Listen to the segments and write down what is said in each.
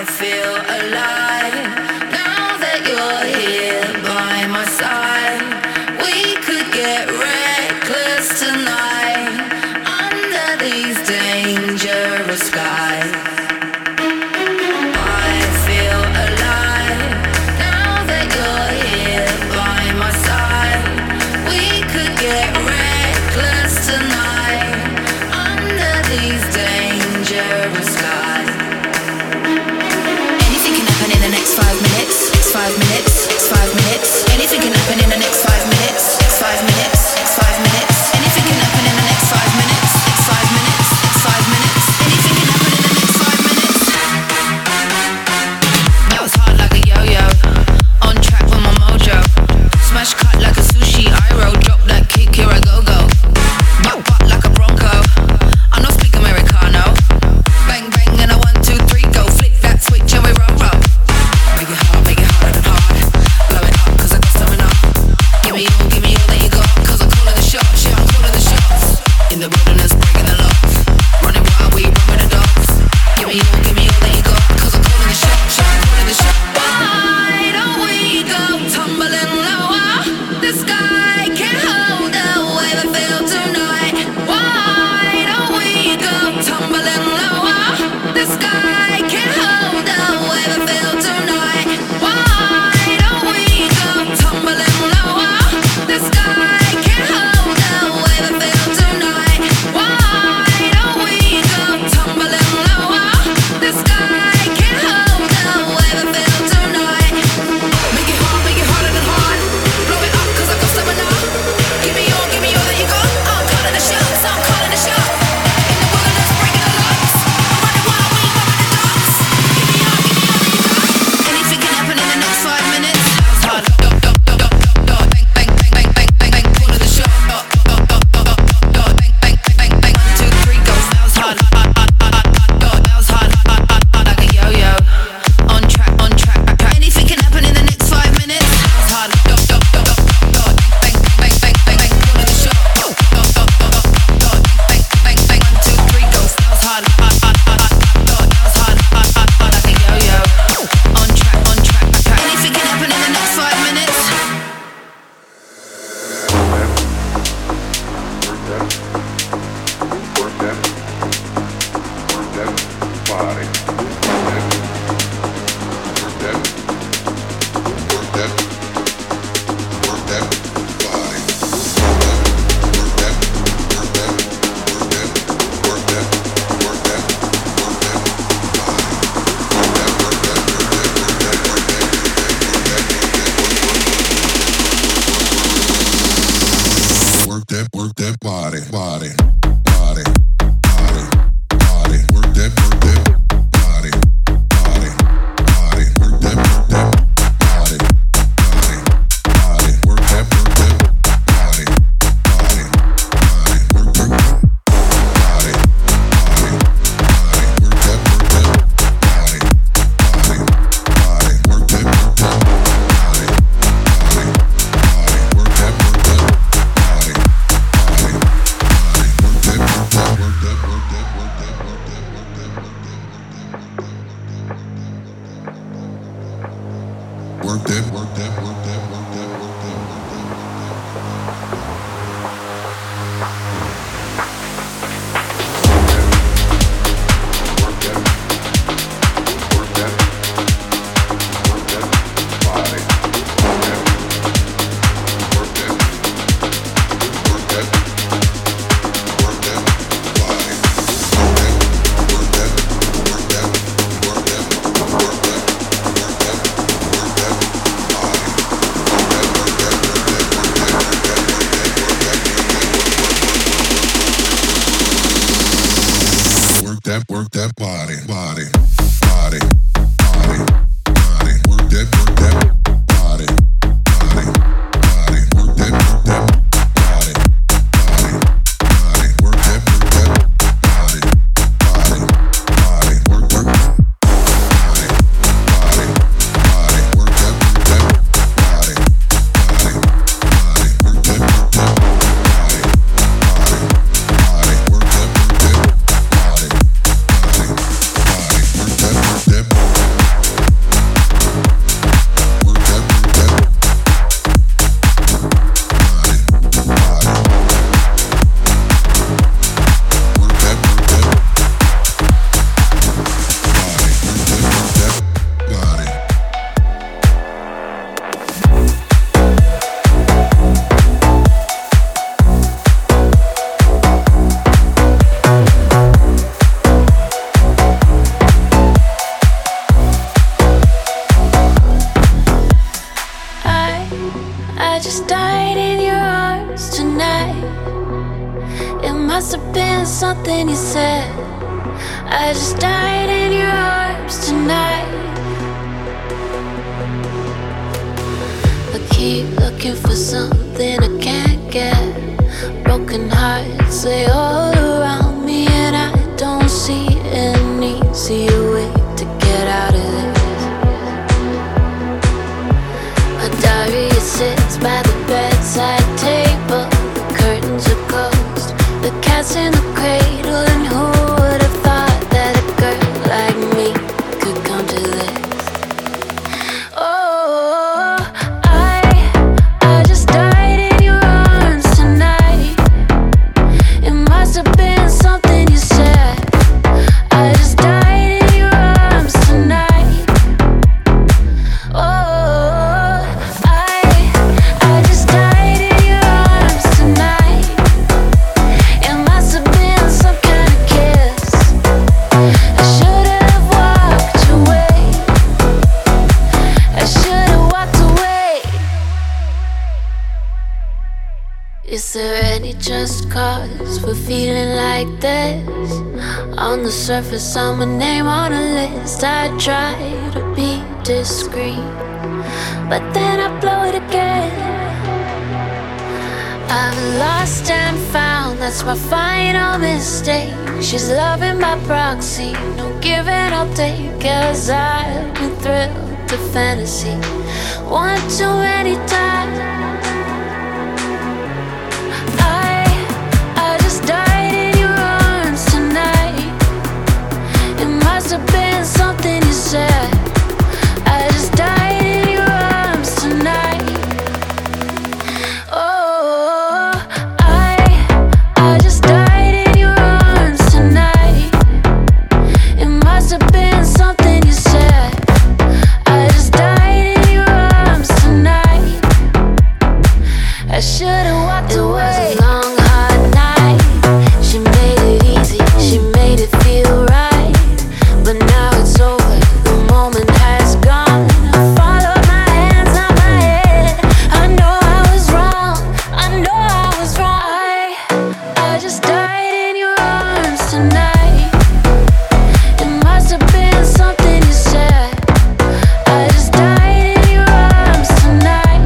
feel alive now that you're here by my side. We could get reckless tonight under these dangerous skies. I feel alive now that you're here by my side. We could get reckless tonight under these dangerous skies. Anything can happen in the next 5 minutes. Next 5 minutes. Next 5 minutes. Anything can happen in the next 5 minutes. Next 5 minutes. Next 5 minutes. Anything can happen in the next 5 minutes. Next 5 minutes. Next 5 minutes. Anything can happen in the next 5 minutes. Bounce hard like a yo-yo. On track with my mojo. Smash cut like a sushi. I roll. Drop that kick. Here I go go. Butt like a bronco. I don't speak Americano. Bang bang and a 1, 2, 3 go. Flick that switch and we roll roll. Make it harder than hard. Blow it up 'cause I got stamina. Give me all that you got 'cause I'm calling the shots. Yeah, I'm calling the shots. In the wilderness, breaking the locks. Running wild, we run with the dogs. Give me all that you got 'cause I'm calling the shots. Yeah, I'm calling the shots. Why don't we go tumbling lower? The sky can't hold the way we feel tonight. Why don't we go tumbling lower? The sky can't hold the way we feel tonight. Why don't we go tumbling lower? The sky can't hold the way we feel tonight. Why don't we go tumbling lower? The sky can't hold the way we feel tonight. Make it harder than hard. Blow it up 'cause I got stamina. Give me all that you got. I'm calling the shots. I'm calling the shots. In the wilderness, breaking the locks. I'm running wild, we run with the dogs. Give me all that you got. Anything can happen in the next 5 minutes. Bounce hard. Bang bang bang bang bang bang. Calling the shot. Bang bang bang bang. 1, 2, 3 go. Bounce hard. Bounce hard like a yo-yo. On track. Anything can happen in the next 5 minutes. Bounce hard. Bang bang bang bang. Calling the shot. Bang bang 1, 2, 3 go. Bounce hard. Bounce hard like a yo-yo. On track. Anything can happen in the next 5 minutes. Work that body. Work that body. Work that body. Work that body. Work that body. Work that body. Work that body. Work that Work that body. Work that body. Work that body. Work that body. Work that Work that I just died in your arms tonight. I keep looking for something I can't get. Broken hearts lay all around me, and I don't see an easier way to get out of this. My diary sits by the bedside table. The curtains are closed, the cat's in the cradle, and who would have thought that a girl like me could come to this? Oh, I just died in your arms tonight. It must have been something you said. I just died in your arms tonight. Oh, I just died in your arms tonight. It must have been some kind of kiss. I should have walked away. I should have walked away. Is there any just cause for feeling like this? On the surface, I'm a name on a list. I try to be discreet, but then I blow it again. I've lost and found, that's my final mistake. She's loving by proxy, no giving I'll take. 'Cause I've been thrilled to fantasy one too many times. I just died in your arms tonight. It must have been something you said. I just died in your arms tonight. Oh, I just died in your arms tonight. It must have been something you said. I just died in your arms tonight. I should have walked away. It was a long, hard night. She made it easy, she made it feel right. But now it's over, the moment has gone. I followed my hands, not my head. I know I was wrong, I know I was wrong. I just died in your arms tonight. It must have been something you said. I just died in your arms tonight.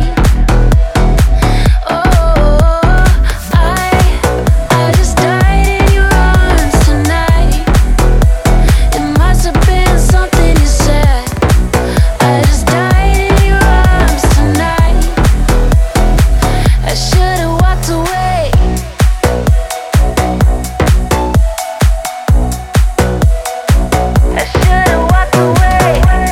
Oh, I just died in your arms tonight. It must have been something you said. I just died in your arms tonight. I should have walked away. I should have walked away.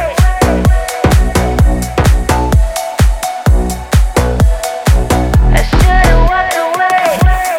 I should have walked away.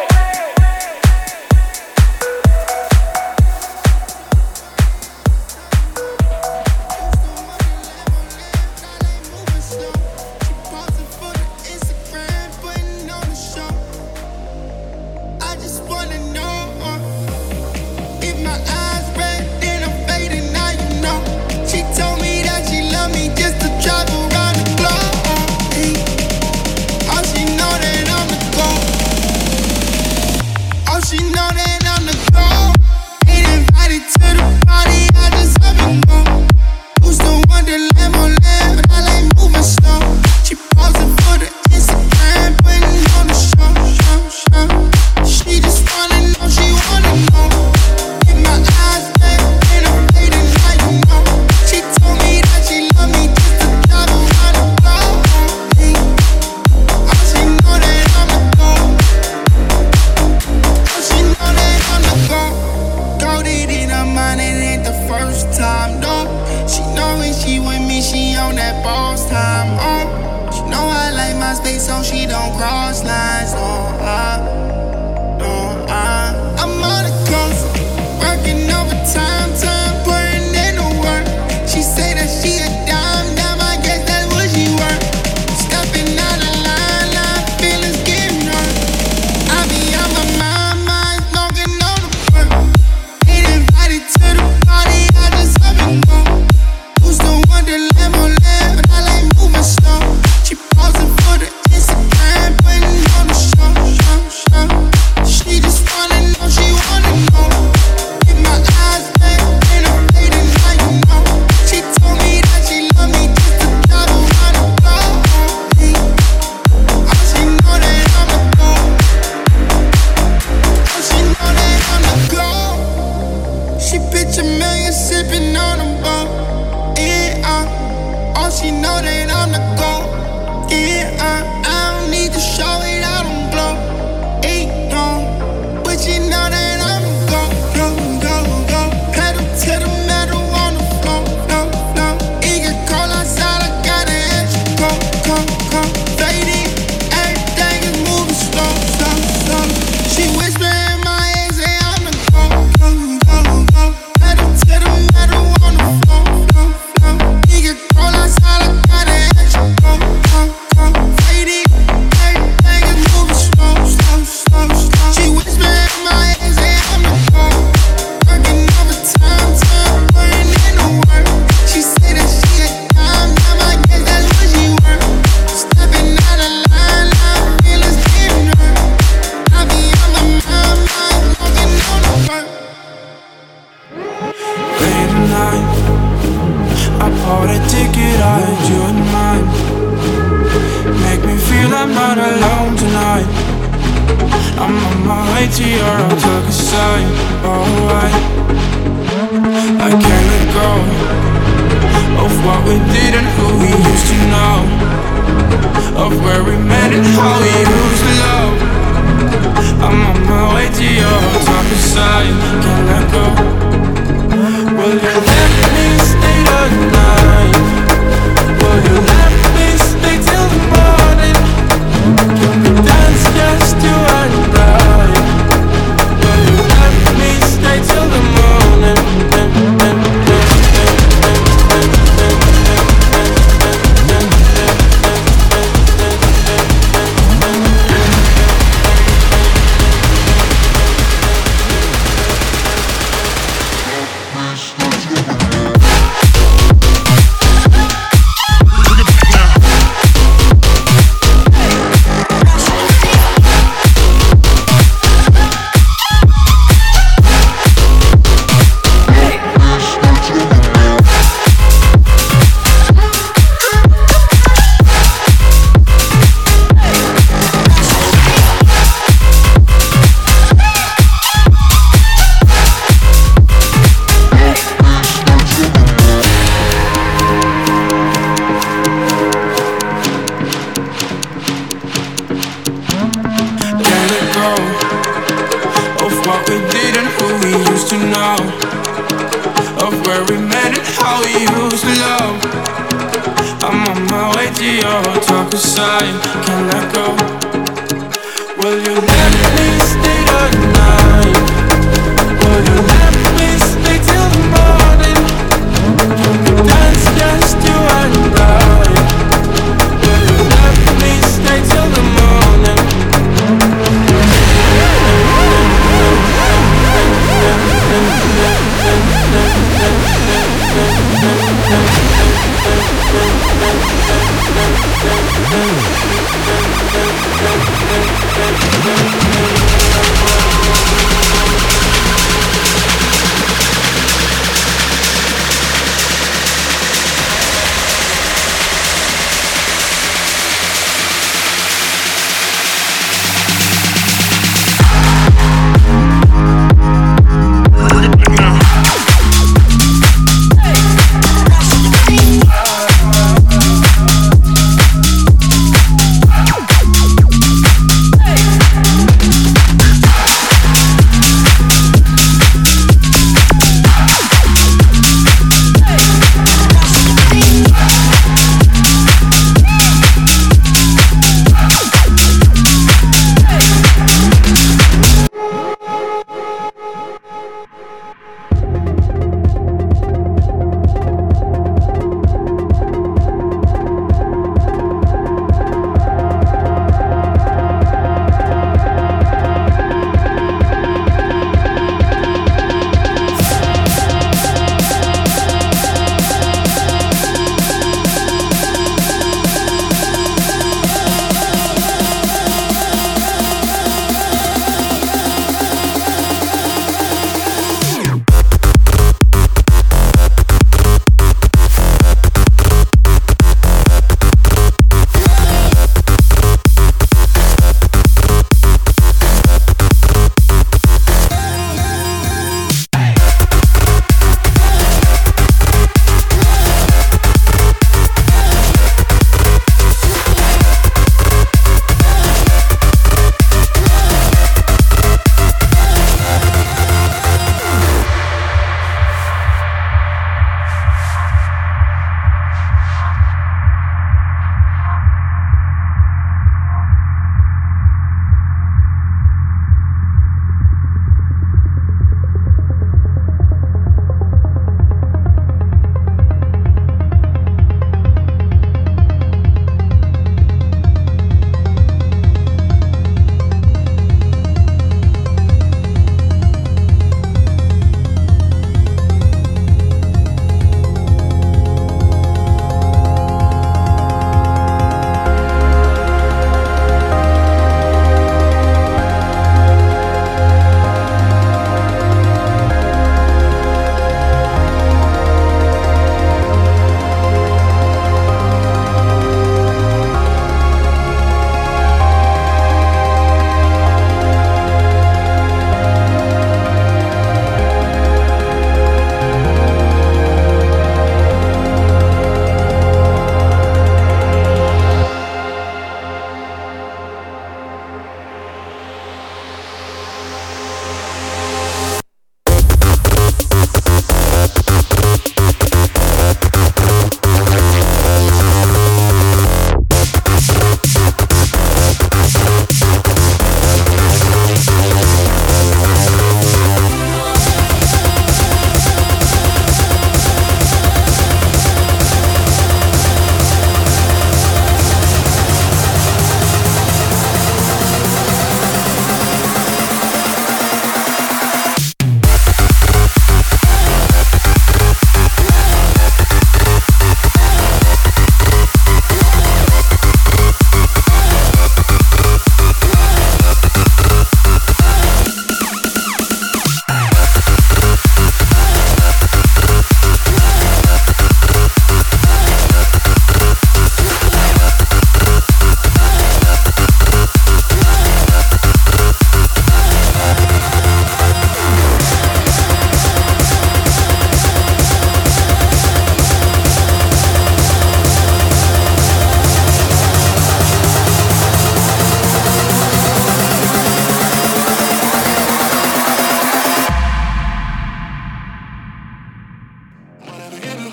I just wanna know if my eyes red, then I'm fading. Now you know. She told me that she loved me just to travel around the globe. Hey, oh, she know that I'm the goal. Oh, she know that I'm the goal. Ain't invited to the party, I just have it go. Who's the one that lamb on lamb, but I like moving slow. She posing for the Instagram, putting on the show. She just wanna know, she wanna know. If my eyes red, then I'm fading, now you know. She told me that she loved me just to travel around the globe. Hey, oh, she know that I'm the goal. Oh, she know that I'm the goal. Goated in her mind, it ain't the first time, no. She know when she with me, she on that boss time, oh. She know I like my space, so she don't cross lines, no. I'm on the coast, working overtime, putting in the work. She say that she a dime, I guess that's what she worth. Stepping out of line, feelings getting hurt. I be on my mind, smoking on the perk. Ain't invited to the party, I just have it go. Who's the one that lamb on lamb, but I like moving slow. She posing for the Instagram, putting on the show. phone. Yeah, all she know that I'm the GOAT. Yeah, I don't need to show it, I don't glow. Ain't no, but you know that I'm the GOAT. Go. Pedal to the metal on the floor. No. It get cold outside, I gotta ask you. Go. Fading, everything is moving slow. She whisper in my ear, say I'm the GOAT. Go. Pedal to the metal on the floor. It get cold outside, I gotta ask you. Go. Fading, everything is moving slow. She whisper in my ear, say I'm the GOAT. Working overtime, putting in the work. She say that she a dime, I guess that's what she worth. Stepping out of line, now feelings getting hurt. I be on my mind, walking on the work. Late at night, I bought a ticket, I had you in mind. Make me feel I'm not alone tonight. I'm on my way to your darker side. Oh, I can't let go of what we did and who we used to know, of where we met and how we used to love. I'm on my way to your darker side. Can't let go. Will you let me stay the night? Will you let me stay till the morning? Can we dance just you and I? Will you let me stay till the morning?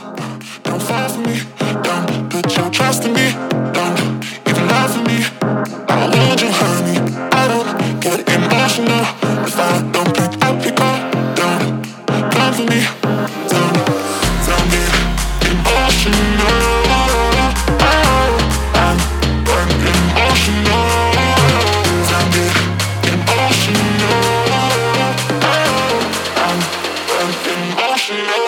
Don't fall for me, don't put your trust in me, don't even lie for me. I don't need you, honey. I don't get emotional if I don't pick up your call. Don't come for me, don't get emotional. I'm emotional. Don't get emotional. I'm emotional.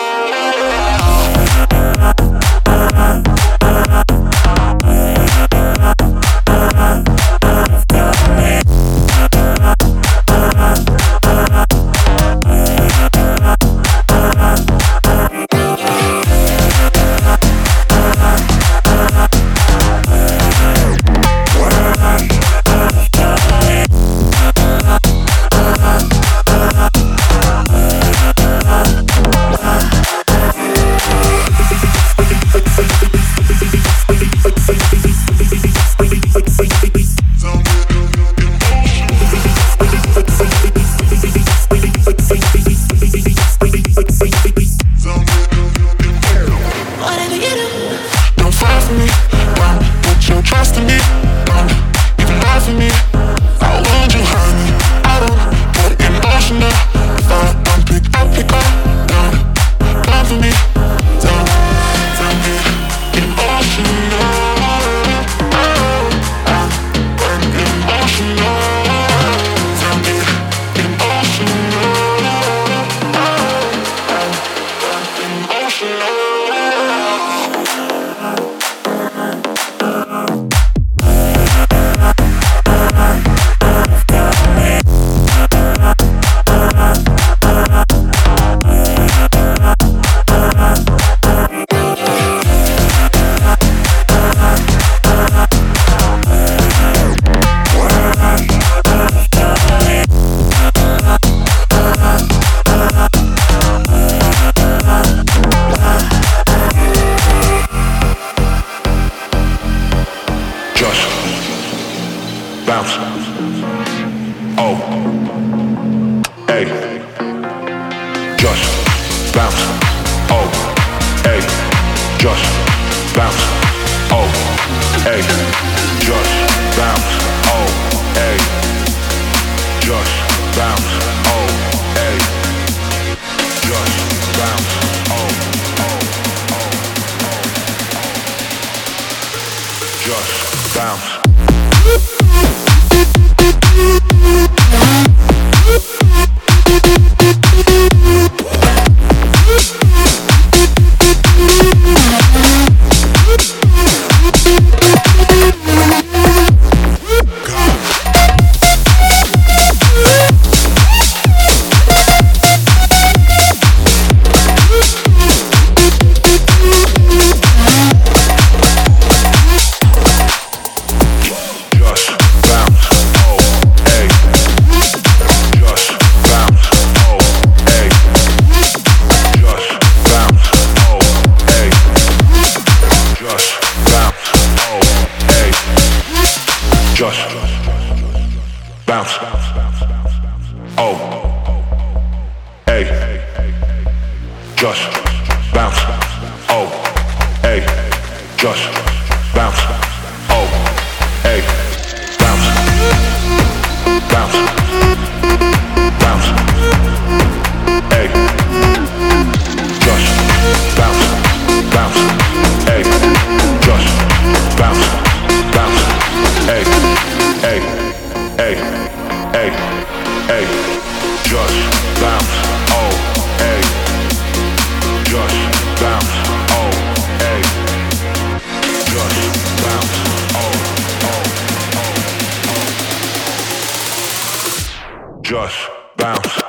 Just bounce.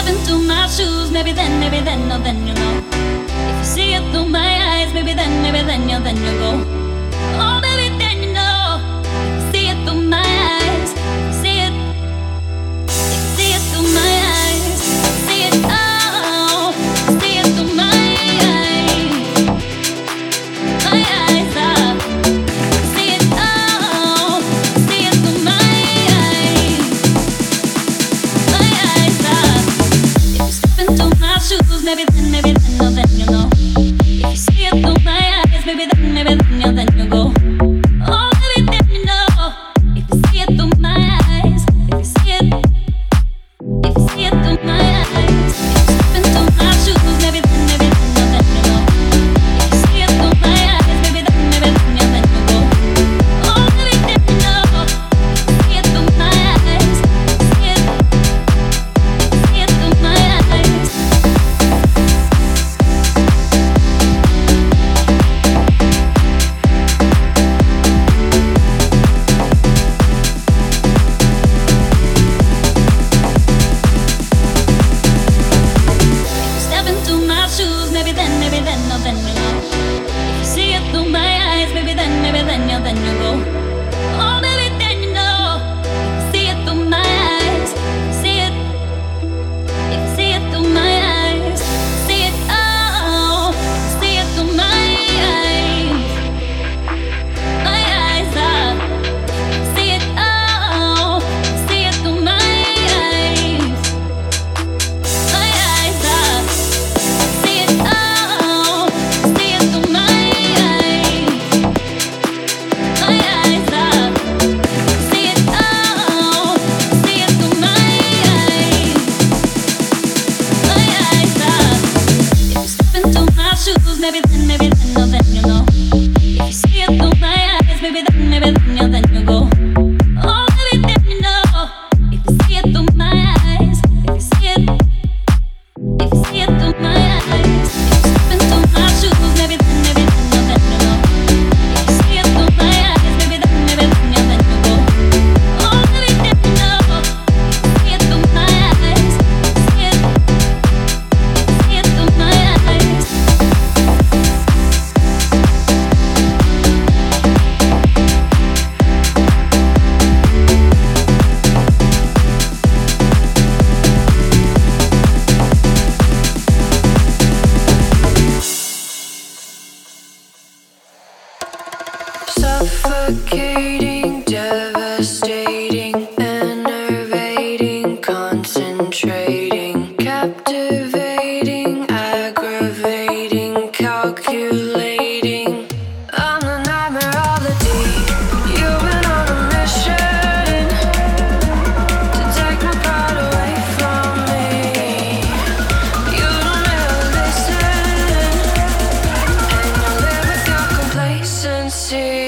step into my shoes, maybe then, no, then you know. If you see it through my eyes, maybe then you go. Oh, maybe then you know. If you see it through my eyes, see it. If you see it through my eyes, see it. Oh, see it through my eyes. My eyes are. See it. Oh, see it through my eyes. My eyes are. If you step into my shoes, maybe then, no, then you know. If you see it through my eyes, maybe then you go. Oh, maybe then you know. If you see it through my eyes, if you see it through my eyes, if you step into my shoes, maybe then, no, then you know. If you see it through my eyes, maybe then you go. Oh, maybe then you know. If you see it through my eyes, see it through my eyes. Step into my shoes, maybe then, no, then you know. If you see it through my eyes, maybe then you go. Oh, maybe then you know. If you see it through my eyes, see it. If you see it through my eyes, see it. Oh, see it through my eyes. My eyes are. See it. Oh, see it through my eyes. My eyes are. See it, oh, see it through my eyes. My eyes are. See it, oh, see it through my eyes. My eyes are. If you step into my shoes, maybe then, no, then you know. If you see it through my eyes, maybe then you go. Oh, maybe then you know. If you see it through my eyes, if you see it. If you see it through my eyes, if you step into my shoes, maybe then, no, then you know. If you see it through my eyes, maybe then you go. Oh, maybe then you know. If you see it through my eyes, see it through my eyes. Suffocating, devastating, enervating, concentrating, captivating, aggravating, calculating. I'm the nightmare of the deep. You've been on a mission to take my pride away from me. You don't ever listen, and you live with your complacency.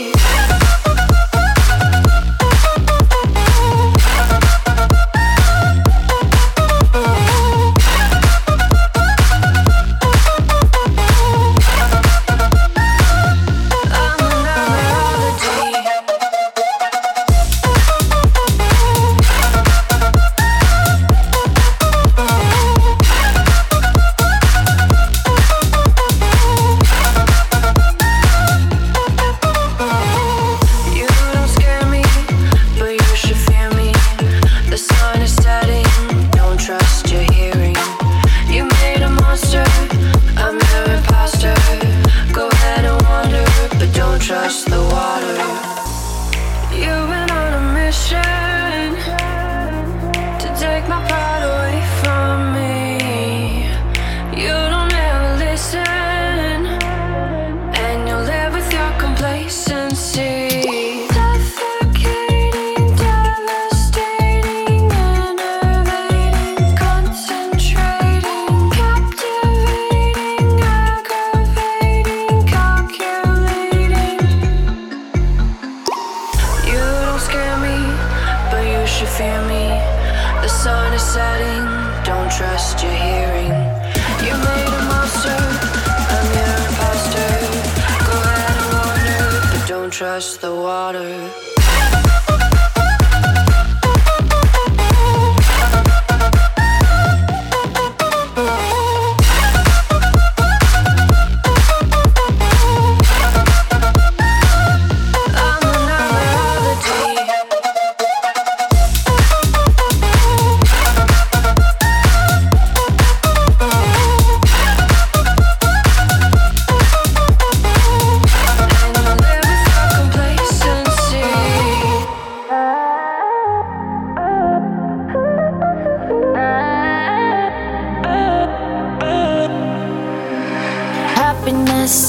Trust the water.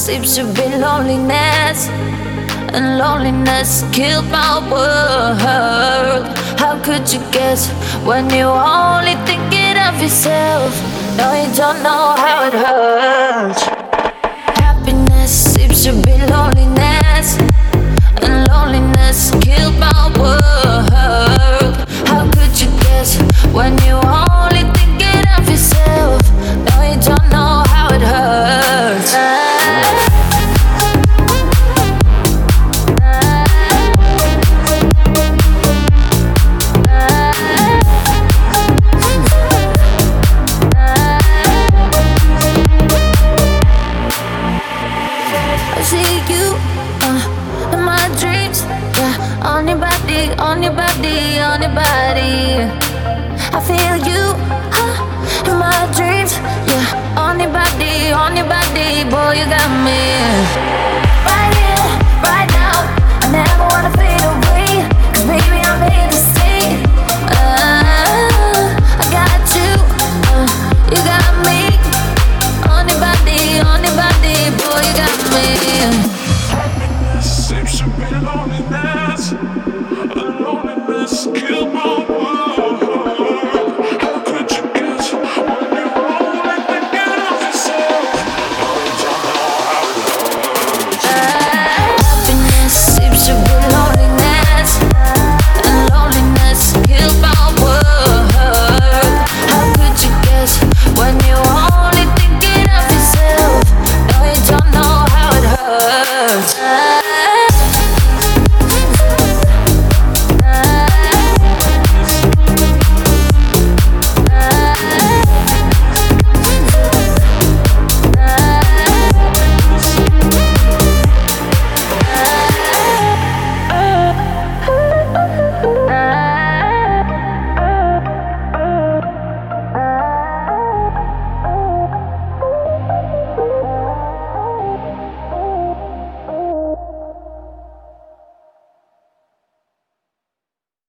seems to be loneliness, and loneliness killed my world. How could you guess when you're only thinking of yourself? No, you don't know how it hurts. Happiness seems to be loneliness, and loneliness killed my world. How could you guess when you